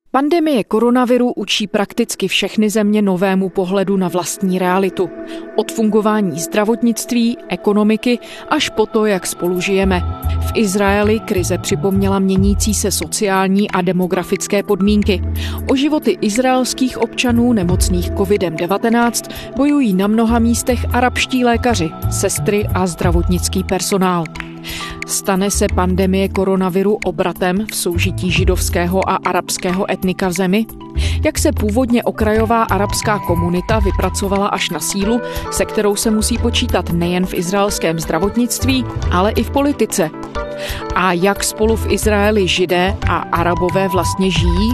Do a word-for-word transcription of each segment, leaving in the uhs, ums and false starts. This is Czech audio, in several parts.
Pandemie koronaviru učí prakticky všechny země novému pohledu na vlastní realitu. Od fungování zdravotnictví, ekonomiky až po to, jak spolu žijeme. V Izraeli krize připomněla měnící se sociální a demografické podmínky. O životy izraelských občanů nemocných kovidem devatenáct bojují na mnoha místech arabští lékaři, sestry a zdravotnický personál. Stane se pandemie koronaviru obratem v soužití židovského a arabského etnika v zemi? Jak se původně okrajová arabská komunita vypracovala až na sílu, se kterou se musí počítat nejen v izraelském zdravotnictví, ale i v politice? A jak spolu v Izraeli Židé a Arabové vlastně žijí?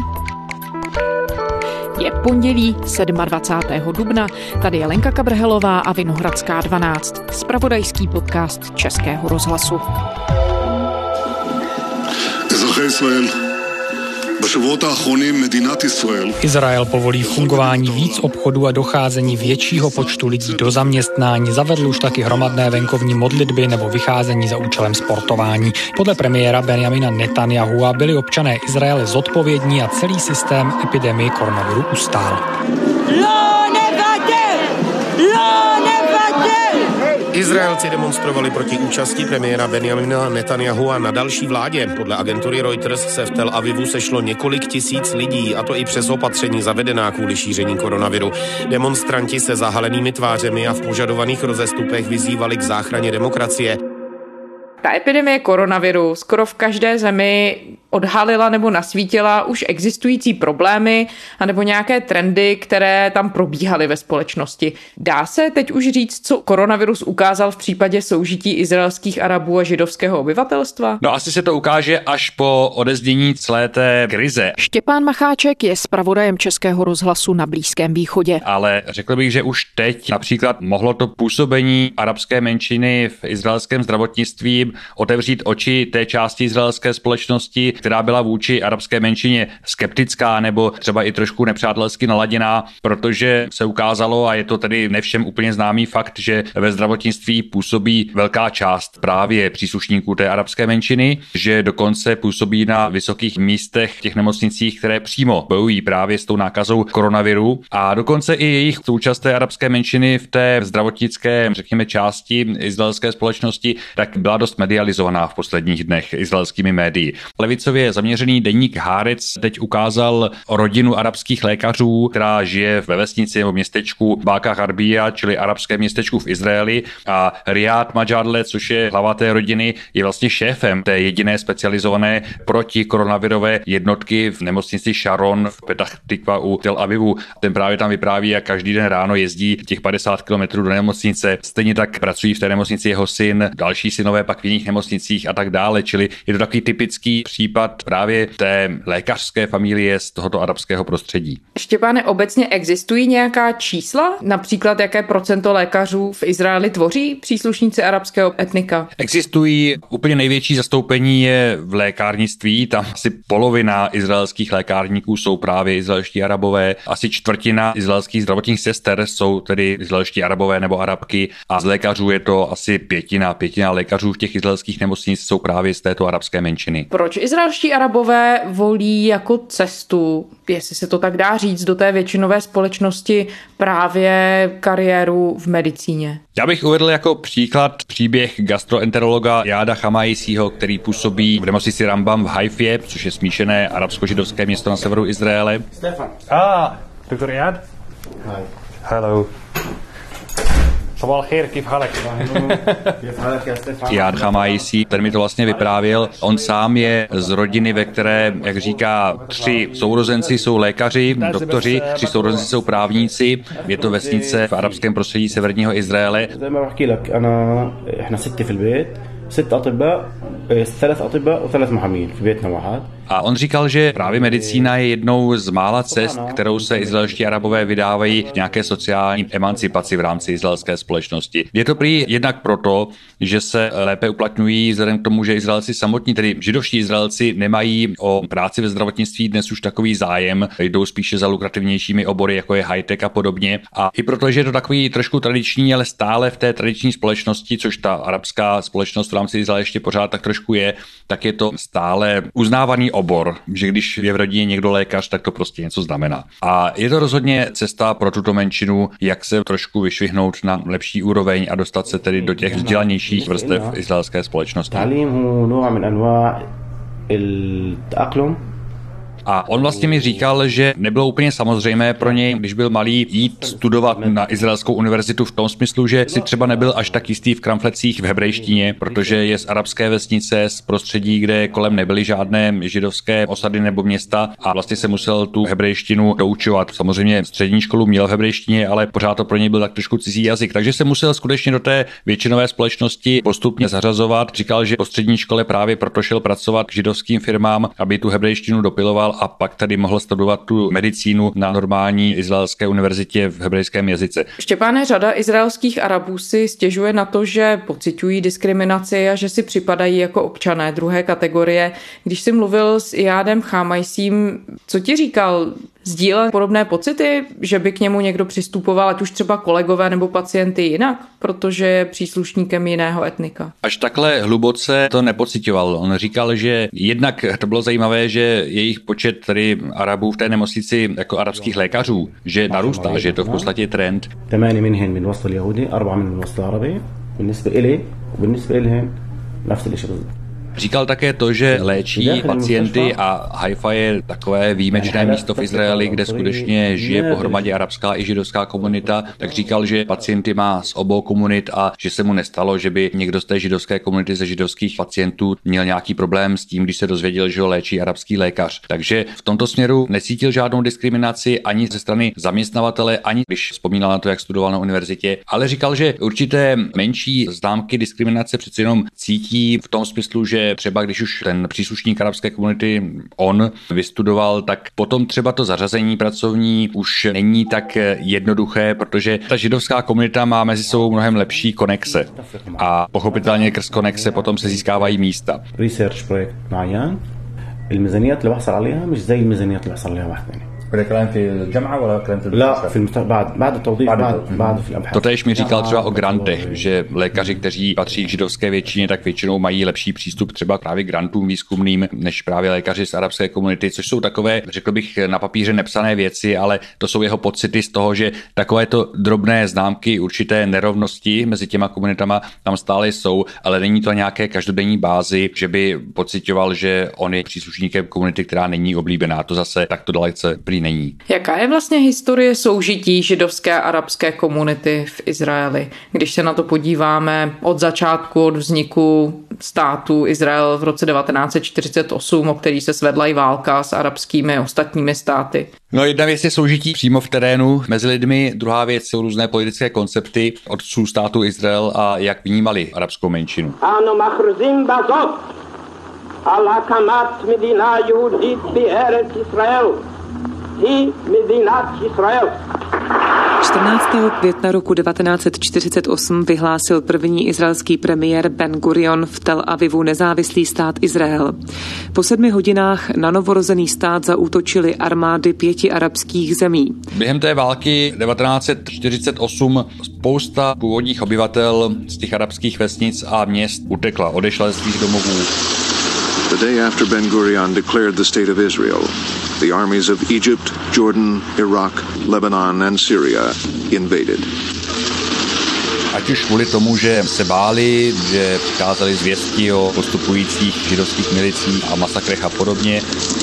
Je pondělí dvacátého sedmého dubna, tady je Lenka Kabrhelová a Vinohradská dvanáct, zpravodajský podcast Českého rozhlasu. Izrael povolí fungování víc obchodů a docházení většího počtu lidí do zaměstnání, zavedl už taky hromadné venkovní modlitby nebo vycházení za účelem sportování. Podle premiéra Benjamina Netanyahua byli občané Izraele zodpovědní a celý systém epidemie koronaviru ustál. Izraelci demonstrovali proti účasti premiéra Benjamina Netanyahua na další vládě. Podle agentury Reuters se v Tel Avivu sešlo několik tisíc lidí, a to i přes opatření zavedená kvůli šíření koronaviru. Demonstranti se zahalenými tvářemi a v požadovaných rozestupech vyzývali k záchraně demokracie. Ta epidemie koronaviru skoro v každé zemi odhalila nebo nasvítila už existující problémy anebo nějaké trendy, které tam probíhaly ve společnosti. Dá se teď už říct, co koronavirus ukázal v případě soužití izraelských Arabů a židovského obyvatelstva? No asi se to ukáže až po odeznění celé té krize. Štěpán Macháček je zpravodajem Českého rozhlasu na Blízkém východě. Ale řekl bych, že už teď například mohlo to působení arabské menšiny v izraelském zdravotnictví otevřít oči té části izraelské společnosti, která byla vůči arabské menšině skeptická nebo třeba i trošku nepřátelsky naladěná, protože se ukázalo, a je to tedy nevšem úplně známý fakt, že ve zdravotnictví působí velká část právě příslušníků té arabské menšiny, že dokonce působí na vysokých místech v těch nemocnicích, které přímo bojují právě s tou nákazou koronaviru, a dokonce i jejich součást té arabské menšiny v té zdravotnické, řekněme, části izraelské společnosti, tak byla dost medializovaná v posledních dnech izraelskými médii. Levicově zaměřený deník Haaretz teď ukázal rodinu arabských lékařů, která žije ve vesnici nebo městečku Báka Harbija, čili arabské městečku v Izraeli, a Riad Majadle, což je hlava té rodiny, je vlastně šéfem té jediné specializované protikoronavirové jednotky v nemocnici Sharon v Petach Tikva u Tel Avivu. Ten právě tam vypráví, jak každý den ráno jezdí těch padesát kilometrů do nemocnice. Stejně tak pracují v té nemocnici jeho syn, další synové pak v jiných nemocnicích a tak dále, čili je to takový typický případ právě té lékařské familie z tohoto arabského prostředí. Štěpáne, obecně existují nějaká čísla? Například jaké procento lékařů v Izraeli tvoří příslušníci arabského etnika? Existují, úplně největší zastoupení je v lékárnictví, tam asi polovina izraelských lékárníků jsou právě izraelští Arabové, asi čtvrtina izraelských zdravotních sester jsou tedy izraelští Arabové nebo Arabky, a z lékařů je to asi pětina, pětina lékařů v těch izraelských nemocnic jsou právě z této arabské menšiny. Proč izraelští Arabové volí jako cestu, jestli se to tak dá říct, do té většinové společnosti právě kariéru v medicíně? Já bych uvedl jako příklad příběh gastroenterologa Jáda Chamaisího, který působí v nemocnici Rambam v Haifě, což je smíšené arabsko-židovské město na severu Izraele. Stefan. Ah, doktor Jád? Hi. Hello. Jád Chamaisi, ten mi to vlastně vyprávěl. On sám je z rodiny, ve které, jak říká, tři sourozenci jsou lékaři, doktoři, tři sourozenci jsou právníci. Je to vesnice v arabském prostředí severního Izraele. ست أطباء ثلاث أطباء وثلاث محامين في بيتنا واحد. A on říkal, že právě medicína je jednou z mála cest, kterou se izraelští Arabové vydávají k nějaké sociální emancipaci v rámci izraelské společnosti. Je to prý jednak proto, že se lépe uplatňují vzhledem k tomu, že Izraelci samotní, tedy židovští Izraelci, nemají o práci ve zdravotnictví dnes už takový zájem, jdou spíše za lukrativnějšími obory, jako je high-tech a podobně. A i proto, že je to takový trošku tradiční, ale stále v té tradiční společnosti, což ta arabská společnost v rámci Izraele ještě pořád tak trošku je, tak je to stále uznávaný obor, že když je v rodině někdo lékař, tak to prostě něco znamená. A je to rozhodně cesta pro tuto menšinu, jak se trošku vyšvihnout na lepší úroveň a dostat se tedy do těch vzdělanějších vrstev izraelské společnosti. A on vlastně mi říkal, že nebylo úplně samozřejmé pro něj, když byl malý, jít studovat na izraelskou univerzitu v tom smyslu, že si třeba nebyl až tak jistý v kramflecích v hebrejštině, protože je z arabské vesnice, z prostředí, kde kolem nebyly žádné židovské osady nebo města a vlastně se musel tu hebrejštinu doučovat. Samozřejmě střední školu měl v hebrejštině, ale pořád to pro něj byl tak trošku cizí jazyk, takže se musel skutečně do té většinové společnosti postupně zařazovat. Říkal, že po střední škole právě proto šel pracovat k židovským firmám, aby tu hebrejštinu dopiloval a pak tady mohl studovat tu medicínu na normální izraelské univerzitě v hebrejském jazyce. Štěpáne, řada izraelských Arabů si stěžuje na to, že pociťují diskriminaci a že si připadají jako občané druhé kategorie. Když jsi mluvil s Iyádem Chámajsím, co ti říkal? Sdílel podobné pocity, že by k němu někdo přistupoval, ať už třeba kolegové nebo pacienty jinak, protože je příslušníkem jiného etnika? Až takhle hluboce to nepocitoval. On říkal, že jednak to bylo zajímavé, že jejich počet tady Arabů v té nemocnici jako arabských lékařů, že narůstá, že je to v podstatě trend. Říkal také to, že léčí pacienty a Haifa je takové výjimečné místo v Izraeli, kde skutečně žije pohromadě arabská i židovská komunita, tak říkal, že pacienty má z obou komunit a že se mu nestalo, že by někdo z té židovské komunity ze židovských pacientů měl nějaký problém s tím, když se dozvěděl, že ho léčí arabský lékař. Takže v tomto směru necítil žádnou diskriminaci ani ze strany zaměstnavatele, ani když vzpomínal na to, jak studoval na univerzitě, ale říkal, že určité menší známky diskriminace přeci jenom cítí v tom smyslu, že třeba když už ten příslušník arabské komunity on vystudoval, tak potom třeba to zařazení pracovní už není tak jednoduché, protože ta židovská komunita má mezi sebou mnohem lepší konexe a pochopitelně krz konexe potom se získávají místa. Research projekt معين الميزانيات اللي بحصل عليها مش زي الميزانيات اللي بحصل عليها واحد ثاني. Totéž mi říkal třeba o grantech, že lékaři, kteří patří k židovské většině, tak většinou mají lepší přístup třeba právě grantům výzkumným, než právě lékaři z arabské komunity, což jsou takové, řekl bych, na papíře nepsané věci, ale to jsou jeho pocity z toho, že takovéto drobné známky určité nerovnosti mezi těma komunitama tam stále jsou, ale není to nějaké každodenní bázi, že by pociťoval, že on je příslušníkem komunity, která není oblíbená. To zase takto dalece prý není. Jaká je vlastně historie soužití židovské a arabské komunity v Izraeli? Když se na to podíváme od začátku, od vzniku státu Izrael v roce devatenáct set čtyřicet osm, o který se svedla i válka s arabskými ostatními státy. No, jedna věc je soužití přímo v terénu mezi lidmi, druhá věc jsou různé politické koncepty otců státu Izrael a jak vnímali arabskou menšinu. על הקמת מדינה יהודית בארץ ישראל. היא מדינת ישראל. čtrnáctého května roku devatenáct set čtyřicet osm vyhlásil první izraelský premiér Ben Gurion v Tel Avivu nezávislý stát Izrael. Po sedmi hodinách na novorozený stát zaútočily armády pěti arabských zemí. Během té války devatenáct set čtyřicet osm spousta původních obyvatel z těch arabských vesnic a měst utekla, odešla ze svých domovů. The day after Ben Gurion declared the state of Israel, the armies of Egypt, Jordan, Iraq, Lebanon and Syria invaded. Ať už kvůli tomu, že se báli, že přicházely zvěsti o postupujících židovských milicích a masakrech a podobně,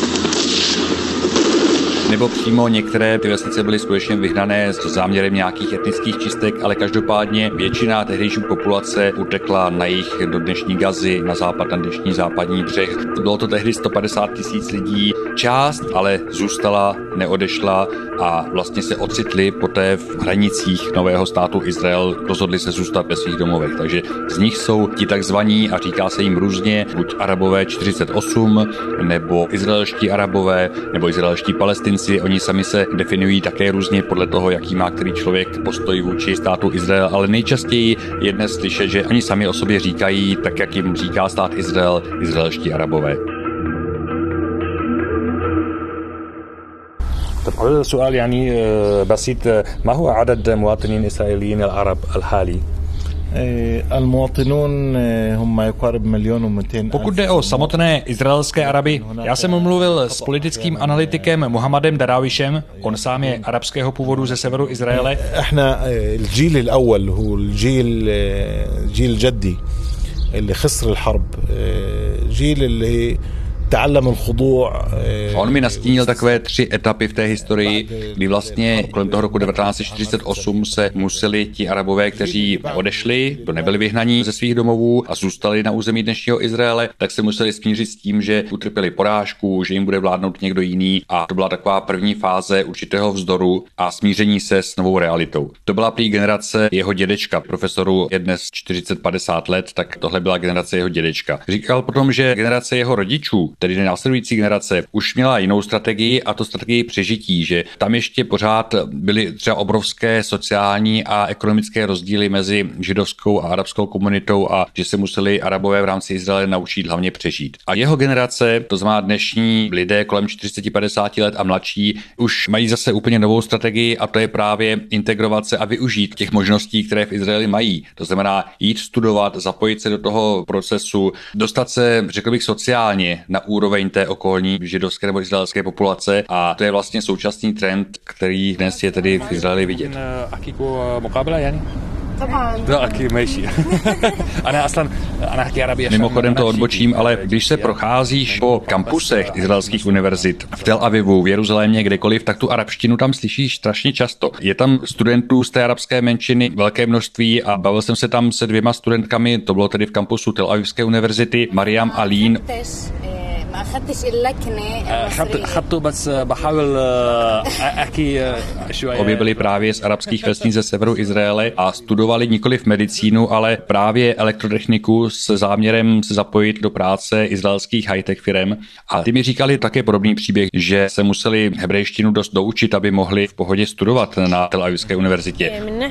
nebo přímo některé ty vesnice byly skutečně vyhnané s záměrem nějakých etnických čistek, ale každopádně většina tehdejší populace utekla na jih do dnešní Gazy, na západ, na dnešní západní břeh. Bylo to tehdy sto padesát tisíc lidí. Část ale zůstala, neodešla a vlastně se ocitli poté v hranicích nového státu Izrael, rozhodli se zůstat ve svých domovech. Takže z nich jsou ti takzvaní, a říká se jim různě, buď Arabové čtyřicet osm, nebo izraelští Arabové, nebo izraelští Palestinci. Oni sami se definují také různě podle toho, jaký má který člověk postoj vůči státu Izrael, ale nejčastěji je dnes slyšet, že oni sami o sobě říkají, tak jak jim říká stát Izrael, izraelští Arabové. طب سؤال يعني بسيط ما هو عدد مواطنين إسرائيليين العرب الحالي Pokud jde o samotné izraelské Araby, já jsem mluvil s politickým analytikem Mohammadem Darawishem, on sám je arabského původu ze severu Izraele. On mi nastínil takové tři etapy v té historii, kdy vlastně kolem toho roku devatenáct set čtyřicet osm se museli ti Arabové, kteří odešli, to nebyli vyhnaní ze svých domovů a zůstali na území dnešního Izraele, tak se museli smířit s tím, že utrpěli porážku, že jim bude vládnout někdo jiný a to byla taková první fáze určitého vzdoru a smíření se s novou realitou. To byla prý generace jeho dědečka, profesoru je dnes čtyřicet padesát let, tak tohle byla generace jeho dědečka. Říkal potom, že generace jeho rodičů, tedy následující generace, už měla jinou strategii a to strategii přežití, že tam ještě pořád byly třeba obrovské sociální a ekonomické rozdíly mezi židovskou a arabskou komunitou a že se museli Arabové v rámci Izraele naučit hlavně přežít. A jeho generace, to znamená dnešní lidé kolem čtyřicet padesát let a mladší, už mají zase úplně novou strategii a to je právě integrovat se a využít těch možností, které v Izraeli mají. To znamená jít studovat, zapojit se do toho procesu, dostat se, řekl bych, sociálně na úroveň té okolní židovské nebo izraelské populace a to je vlastně současný trend, který dnes je tedy v Izraeli vidět. Mimochodem to odbočím, ale když se procházíš po kampusech izraelských univerzit v Tel Avivu, v Jeruzalémě, kdekoliv, tak tu arabštinu tam slyšíš strašně často. Je tam studentů z té arabské menšiny velké množství a bavil jsem se tam se dvěma studentkami, to bylo tedy v kampusu Tel Avivské univerzity, Mariam a Lin. Obě byli právě z arabských vesnic ze severu Izraele a studovali nikoliv medicínu, ale právě elektrotechniku s záměrem se zapojit do práce izraelských high-tech firem. A ty mi říkali také podobný příběh, že se museli hebrejštinu dost doučit, aby mohli v pohodě studovat na Tel Avivské univerzitě.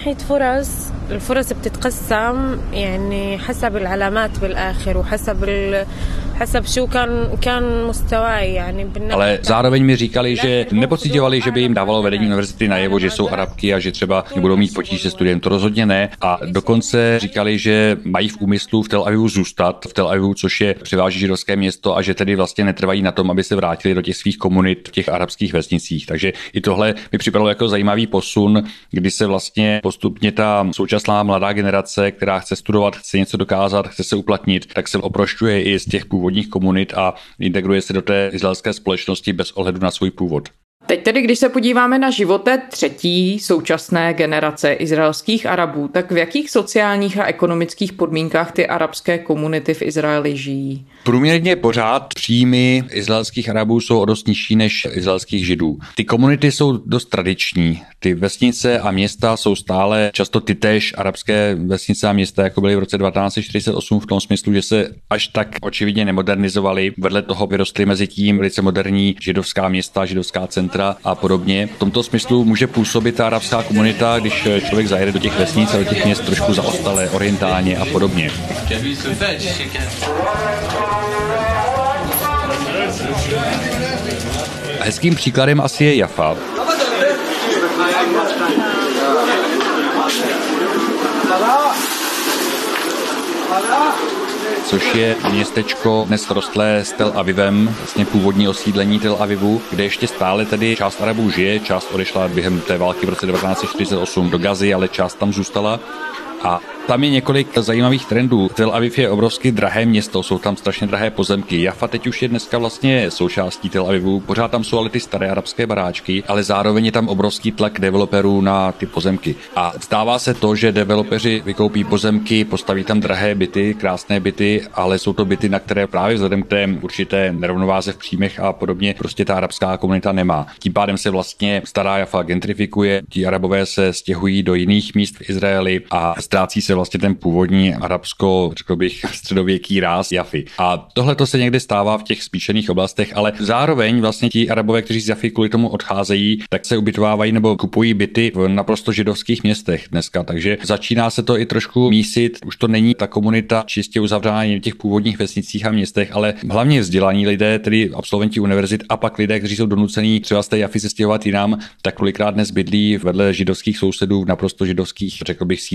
Ale zároveň mi říkali, že nepociťovali, že by jim dávalo vedení univerzity najevo, že jsou Arabky a že třeba nebudou mít potíž se studiem, to rozhodně ne. A dokonce říkali, že mají v úmyslu v Tel Avivu zůstat, v Tel Avivu, což je převážně židovské město a že tedy vlastně netrvají na tom, aby se vrátili do těch svých komunit v těch arabských vesnicích. Takže i tohle mi připadalo jako zajímavý posun, kdy se vlastně postupně ta současná mladá generace, která chce studovat, chce něco dokázat, chce se uplatnit, tak se oprošťuje i z těch původních komunit a integruje se do té izraelské společnosti bez ohledu na svůj původ. Teď tedy, když se podíváme na život té třetí současné generace izraelských Arabů, tak v jakých sociálních a ekonomických podmínkách ty arabské komunity v Izraeli žijí? Průměrně pořád příjmy izraelských Arabů jsou o dost nižší než izraelských Židů. Ty komunity jsou dost tradiční. Ty vesnice a města jsou stále často tytéž arabské vesnice a města, jako byly v roce devatenáct set čtyřicet osm v tom smyslu, že se až tak očividně nemodernizovaly. Vedle toho vyrostly mezi tím velice moderní židovská města, židovská centra a podobně. V tomto smyslu může působit ta arabská komunita, když člověk zajede do těch vesnic a do těch měst trošku zaostalé, orientálně a podobně. Hezkým příkladem asi je Jaffa. Což je městečko dnes rostlé s Tel Avivem, vlastně původní osídlení Tel Avivu, kde ještě stále tedy část Arabů žije, část odešla během té války v roce devatenáct set čtyřicet osm do Gazy, ale část tam zůstala. A tam je několik zajímavých trendů. Tel Aviv je obrovsky drahé město, jsou tam strašně drahé pozemky. Jaffa teď už je dneska vlastně součástí Tel Avivu, pořád tam jsou ale ty staré arabské baráčky, ale zároveň je tam obrovský tlak developerů na ty pozemky. A stává se to, že developeři vykoupí pozemky, postaví tam drahé byty, krásné byty, ale jsou to byty, na které právě vzhledem k té určité nerovnováze v příjmech a podobně prostě ta arabská komunita nemá. Tím pádem se vlastně stará Jaffa gentrifikuje, ti Arabové se stěhují do jiných míst v Izraeli a ztrácí se vlastně ten původní arabsko, řekl bych, středověký ráz Jaffy. A tohle to se někdy stává v těch spíšených oblastech, ale zároveň vlastně ti Arabové, kteří z Jaffy kvůli tomu odcházejí, tak se ubytovávají nebo kupují byty v naprosto židovských městech dneska. Takže začíná se to i trošku mísit. Už to není ta komunita čistě uzavřená v těch původních vesnicích a městech, ale hlavně vzdělaní lidé, tedy absolventi univerzit a pak lidé, kteří jsou donucení třeba z té Jaffy se stěhovat jinam, tak kolikrát dnes bydlí vedle židovských sousedů v naprosto židovských, řekl bych, sídlištích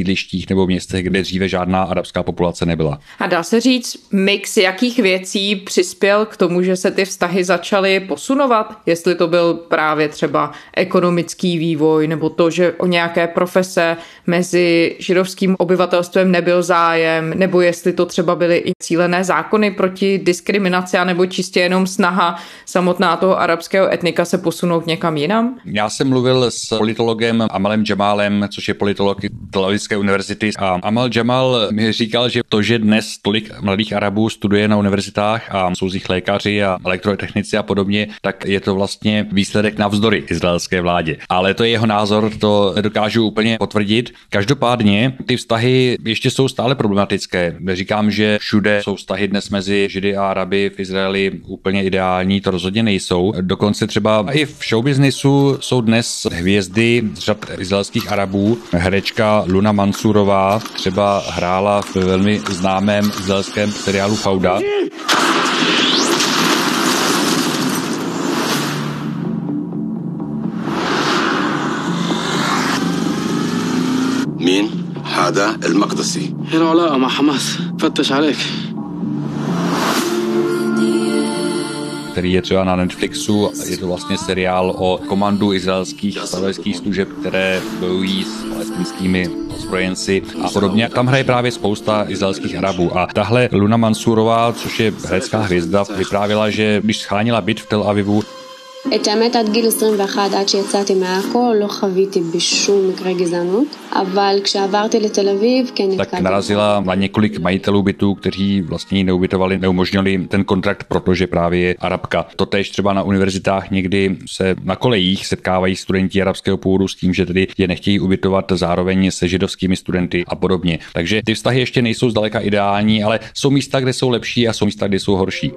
vesnicích nebo městech, kde dříve žádná arabská populace nebyla. A dá se říct mix jakých věcí přispěl k tomu, že se ty vztahy začaly posunovat? Jestli to byl právě třeba ekonomický vývoj nebo to, že o nějaké profese mezi židovským obyvatelstvem nebyl zájem, nebo jestli to třeba byly i cílené zákony proti diskriminaci, nebo čistě jenom snaha samotná toho arabského etnika se posunout někam jinam? Já jsem mluvil s politologem Amalem Jamalem, což je politolog Tel Avivské univerzity, a Amal Jamal mi říkal, že to, že dnes tolik mladých Arabů studuje na univerzitách a jsou z nich lékaři a elektrotechnici a podobně, tak je to vlastně výsledek navzdory izraelské vládě. Ale to je jeho názor, to nedokážu úplně potvrdit. Každopádně ty vztahy ještě jsou stále problematické. Neříkám, že všude jsou vztahy dnes mezi Židy a Araby v Izraeli úplně ideální, to rozhodně nejsou. Dokonce třeba i v showbiznisu jsou dnes hvězdy z řad izraelských Arabů. Herečka Luna Mansurová třeba hrála v velmi známém izraelském seriálu Fauda. مين؟ هذا المقدسي. العلاقة مع حماس. فتش عليك. Který je třeba na Netflixu. Je to vlastně seriál o komandu izraelských zpravodajských služeb, které bojují s palestinskými ozbrojenci a podobně. Tam hraje právě spousta izraelských Arabů. A tahle Luna Mansurová, což je herecká hvězda, vyprávěla, že když scháněla byt v Tel Avivu, את האמת עד גיל עשרים ואחת, עד שיצאתי מעכו, לא חוויתי בשום מקרה גזענות, אבל כשעברתי לתל אביב, כן נתקלתי. Tak narazila na několik majitelů bytů, kteří vlastně neubytovali, neumožnili ten kontrakt, protože právě je Arabka. Totéž třeba na univerzitách někdy se na kolejích setkávají studenti arabského původu s tím, že tedy je nechtějí ubytovat zároveň se židovskými studenty a podobně. Takže ty vztahy ještě nejsou zdaleka ideální, ale jsou místa, kde jsou lepší a jsou místa, kde jsou horší.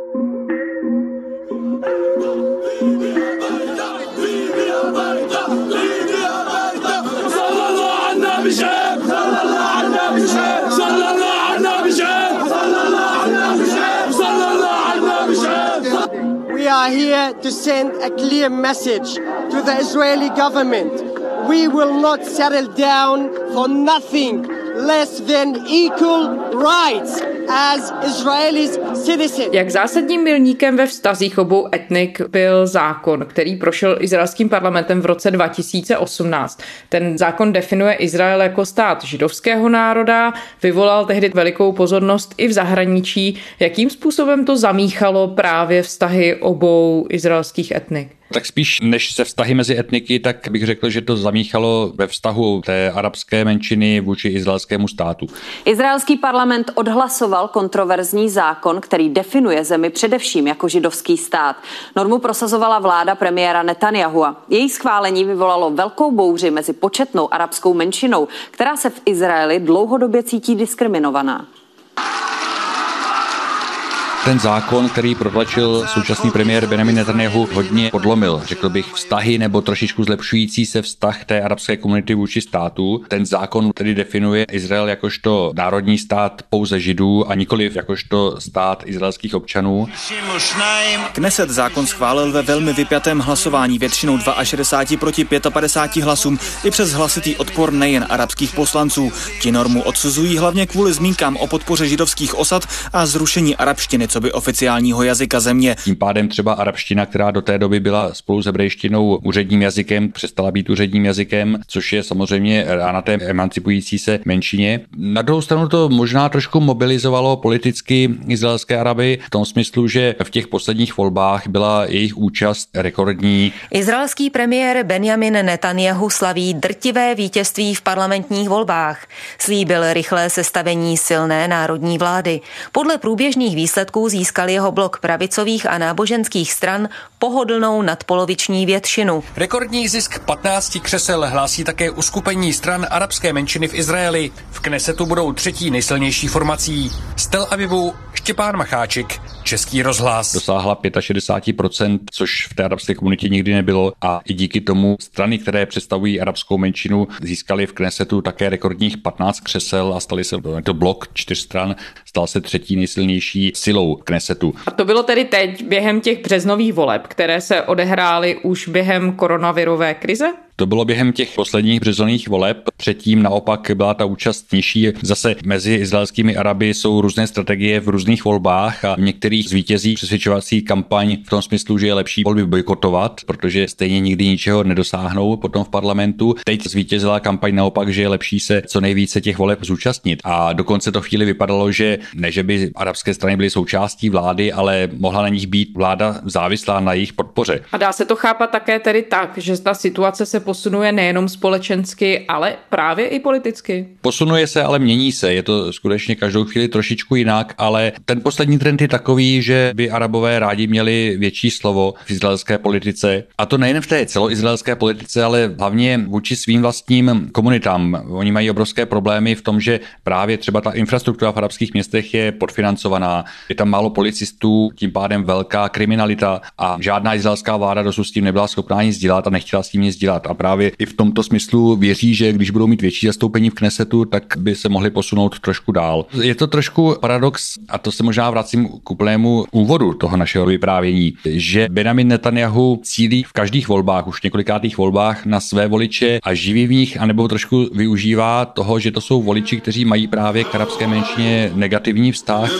We are here to send a clear message to the Israeli government. We will not settle down for nothing less than equal rights as Israelis citizens. Jak zásadním milníkem ve vztazích obou etnik byl zákon, který prošel izraelským parlamentem v roce dva tisíce osmnáct. Ten zákon definuje Izrael jako stát židovského národa, vyvolal tehdy velikou pozornost i v zahraničí. Jakým způsobem to zamíchalo právě vztahy obou izraelských etnik? Tak spíš než se vztahy mezi etniky, tak bych řekl, že to zamíchalo ve vztahu té arabské menšiny vůči izraelskému státu. Izraelský parlament odhlasoval kontroverzní zákon, který definuje zemi především jako židovský stát. Normu prosazovala vláda premiéra Netanyahua. Její schválení vyvolalo velkou bouři mezi početnou arabskou menšinou, která se v Izraeli dlouhodobě cítí diskriminovaná. Ten zákon, který protlačil současný premiér Benjamin Netanyahu, hodně podlomil, řekl bych, vztahy nebo trošičku zlepšující se vztah té arabské komunity vůči státu. Ten zákon tedy definuje Izrael jakožto národní stát pouze Židů a nikoliv jakožto stát izraelských občanů. Kneset zákon schválil ve velmi vypjatém hlasování většinou šedesát dva proti padesát pět hlasům i přes hlasitý odpor nejen arabských poslanců. Ti normu odsuzují hlavně kvůli zmínkám o podpoře židovských osad a zrušení arabštiny coby oficiálního jazyka země. Tím pádem třeba arabština, která do té doby byla spolu s hebrejštinou úředním jazykem, přestala být úředním jazykem, což je samozřejmě rána té emancipující se menšině. Na druhou stranu to možná trošku mobilizovalo politicky izraelské Araby v tom smyslu, že v těch posledních volbách byla jejich účast rekordní. Izraelský premiér Benjamin Netanyahu slaví drtivé vítězství v parlamentních volbách. Slíbil rychlé sestavení silné národní vlády. Podle průběžných výsledků získal jeho blok pravicových a náboženských stran pohodlnou nadpoloviční většinu. Rekordní zisk patnácti křesel hlásí také uskupení stran arabské menšiny v Izraeli. V Knesetu budou třetí nejsilnější formací. Z Tel Avivu Štěpán Macháček, Český rozhlas. Dosáhla šedesát pět procent, což v té arabské komunitě nikdy nebylo a i díky tomu strany, které představují arabskou menšinu, získaly v Knesetu také rekordních patnáct křesel a stali se to blok čtyř stran, stal se třetí nejsilnější silou Knesetu. A to bylo tedy teď během těch březnových voleb, které se odehrály už během koronavirové krize? To bylo během těch posledních březnových voleb, předtím naopak byla ta účast nižší. Zase mezi izraelskými Araby jsou různé strategie v různých volbách a v některých zvítězí přesvědčovací kampaň v tom smyslu, že je lepší volby bojkotovat, protože stejně nikdy ničeho nedosáhnou potom v parlamentu. Teď zvítězila kampaň naopak, že je lepší se co nejvíce těch voleb zúčastnit. A dokonce to chvíli vypadalo, že ne, že by arabské strany byly součástí vlády, ale mohla na nich být vláda závislá na jejich podpoře. A dá se to chápat také tedy tak, že ta situace se posunuje nejenom společensky, ale právě i politicky. Posunuje se, ale mění se. Je to skutečně každou chvíli trošičku jinak, ale ten poslední trend je takový, že by Arabové rádi měli větší slovo v izraelské politice. A to nejen v té celoizraelské politice, ale hlavně vůči svým vlastním komunitám. Oni mají obrovské problémy v tom, že právě třeba ta infrastruktura v arabských městech je podfinancovaná. Je tam málo policistů, tím pádem velká kriminalita a žádná izraelská vláda dosud s tím nebyla schopná nic dělat a nechtěla s tím nic dělat. A právě i v tomto smyslu věří, že když budou mít větší zastoupení v Knesetu, tak by se mohli posunout trošku dál. Je to trošku paradox, a to se možná vracím k úplnému úvodu toho našeho vyprávění, že Benjamin Netanjahu cílí v každých volbách, už několikátých volbách, na své voliče a živí v nich, anebo trošku využívá toho, že to jsou voliči, kteří mají právě k arabské menšině negativní vztah.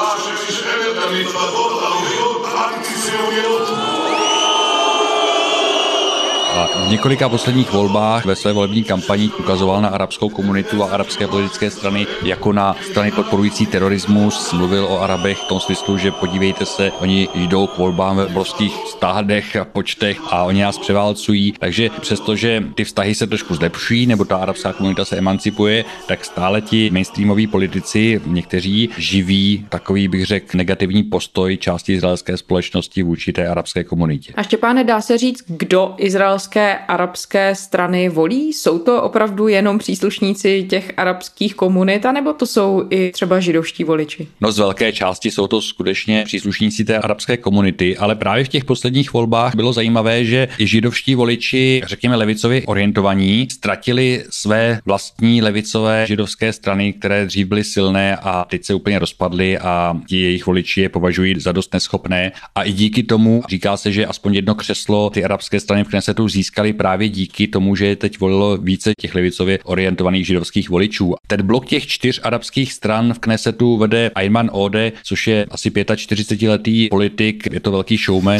A v několika posledních volbách ve své volební kampani ukazoval na arabskou komunitu a arabské politické strany jako na strany podporující terorismus. Mluvil o Arabech v tom smyslu, že podívejte se, oni jdou k volbám ve obrovských stádech a počtech a oni nás převálcují. Takže přestože ty vztahy se trošku zlepšují, nebo ta arabská komunita se emancipuje, tak stále ti mainstreamoví politici, někteří živí takový, bych řekl, negativní postoj části izraelské společnosti vůči té arabské komunitě. A Štěpáne, dá se říct, kdo izraelské arabské strany volí? Jsou to opravdu jenom příslušníci těch arabských komunit, anebo to jsou i třeba židovští voliči? No z velké části jsou to skutečně příslušníci té arabské komunity, ale právě v těch posledních volbách bylo zajímavé, že i židovští voliči, řekněme levicově orientovaní, ztratili své vlastní levicové židovské strany, které dřív byly silné a teď se úplně rozpadly a ti jejich voliči je považují za dost neschopné. A i díky tomu říká se, že aspoň jedno křeslo ty arabské strany v Knesetu získali právě díky tomu, že teď volilo více těch levicově orientovaných židovských voličů. Ten blok těch čtyř arabských stran v Knesetu vede Ayman Ode, což je asi čtyřicetiletý politik, je to velký showman.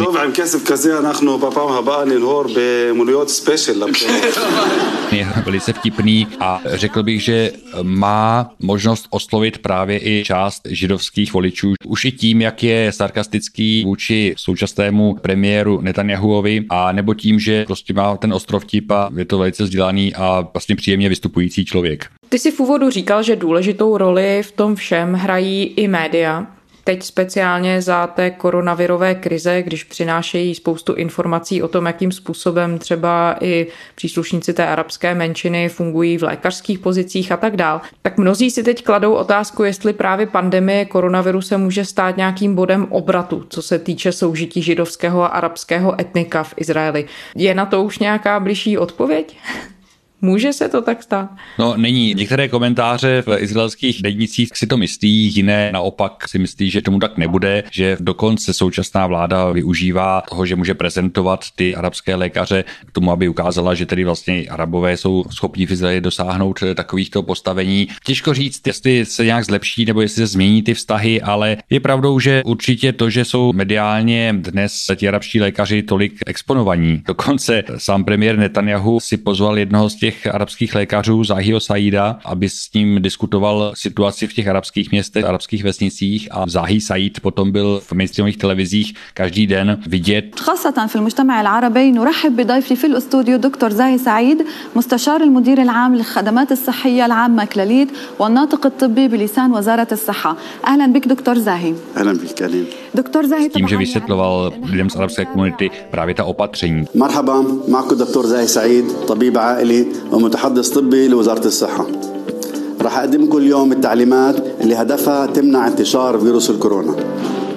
Je velice vtipný a řekl bych, že má možnost oslovit právě i část židovských voličů. Už i tím, jak je sarkastický vůči současnému premiéru Netanjahuovi a nebo tím, že prostě má ten ostrov vtip a je to velice vzdělaný a vlastně příjemně vystupující člověk. Ty jsi v úvodu říkal, že důležitou roli v tom všem hrají i média. Teď speciálně za té koronavirové krize, když přinášejí spoustu informací o tom, jakým způsobem třeba i příslušníci té arabské menšiny fungují v lékařských pozicích a tak dál, tak mnozí si teď kladou otázku, jestli právě pandemie koronaviru se může stát nějakým bodem obratu, co se týče soužití židovského a arabského etnika v Izraeli. Je na to už nějaká bližší odpověď? Může se to tak stát? No není. Některé komentáře v izraelských denících si to myslí, jiné naopak si myslí, že tomu tak nebude, že dokonce současná vláda využívá toho, že může prezentovat ty arabské lékaře k tomu, aby ukázala, že tedy vlastně Arabové jsou schopni v Izraeli dosáhnout takovýchto postavení. Těžko říct, jestli se nějak zlepší nebo jestli se změní ty vztahy, ale je pravdou, že určitě to, že jsou mediálně dnes ti arabští lékaři tolik exponovaní. Dokonce sám premiér Netanjahu si pozval jednoho z těch arabských lékařů Zahiho Saida, aby s ním diskutoval situaci v těch arabských městech, arabských vesnicích a Zahi Said potom byl v mainstreamových televizích každý den vidět. خاصة في المجتمع العربي نرحب بضيفي في الاستوديو دكتور زاهي سعيد مستشار المدير العام للخدمات الصحية العامة كلاليت والناطق الطبي بلسان وزارة الصحة. أهلا بك دكتور زاهي. أهلا بك أهلا. دكتور زاهي tím, že vysvětloval lidem z arabské komunity právě ta opatření. مرحبا معكم دكتور زاهي سعيد طبيب عائلي ومتحدث طبي لوزارة الصحة. راح أقدم لكم اليوم التعليمات اللي هدفها تمنع انتشار فيروس الكورونا.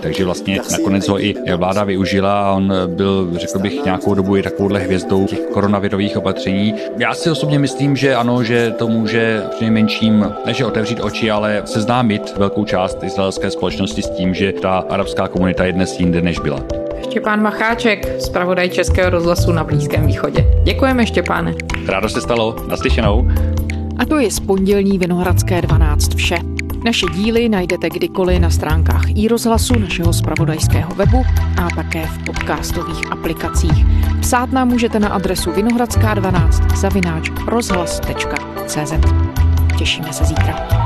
takže vlastně nakonec ho i vláda využila a on byl, řekl bych, nějakou dobu i takovouhle hvězdou těch koronavirových opatření. Já si osobně myslím, že ano, že to může přinejmenším než otevřít oči, ale seznámit velkou část izraelské společnosti s tím, že ta arabská komunita je dnes jinde, než byla. Štěpán Macháček, zpravodaj Českého rozhlasu na Blízkém východě. Děkujeme, Štěpáne. Rádo se stalo. Naslyšenou. A to je z pondělní Vinohradské dvanáct vše. Naše díly najdete kdykoliv na stránkách iRozhlasu, našeho zpravodajského webu a také v podcastových aplikacích. Psát nám můžete na adresu vinohradská dvanáct zavináč rozhlas tečka cé zet. Těšíme se zítra.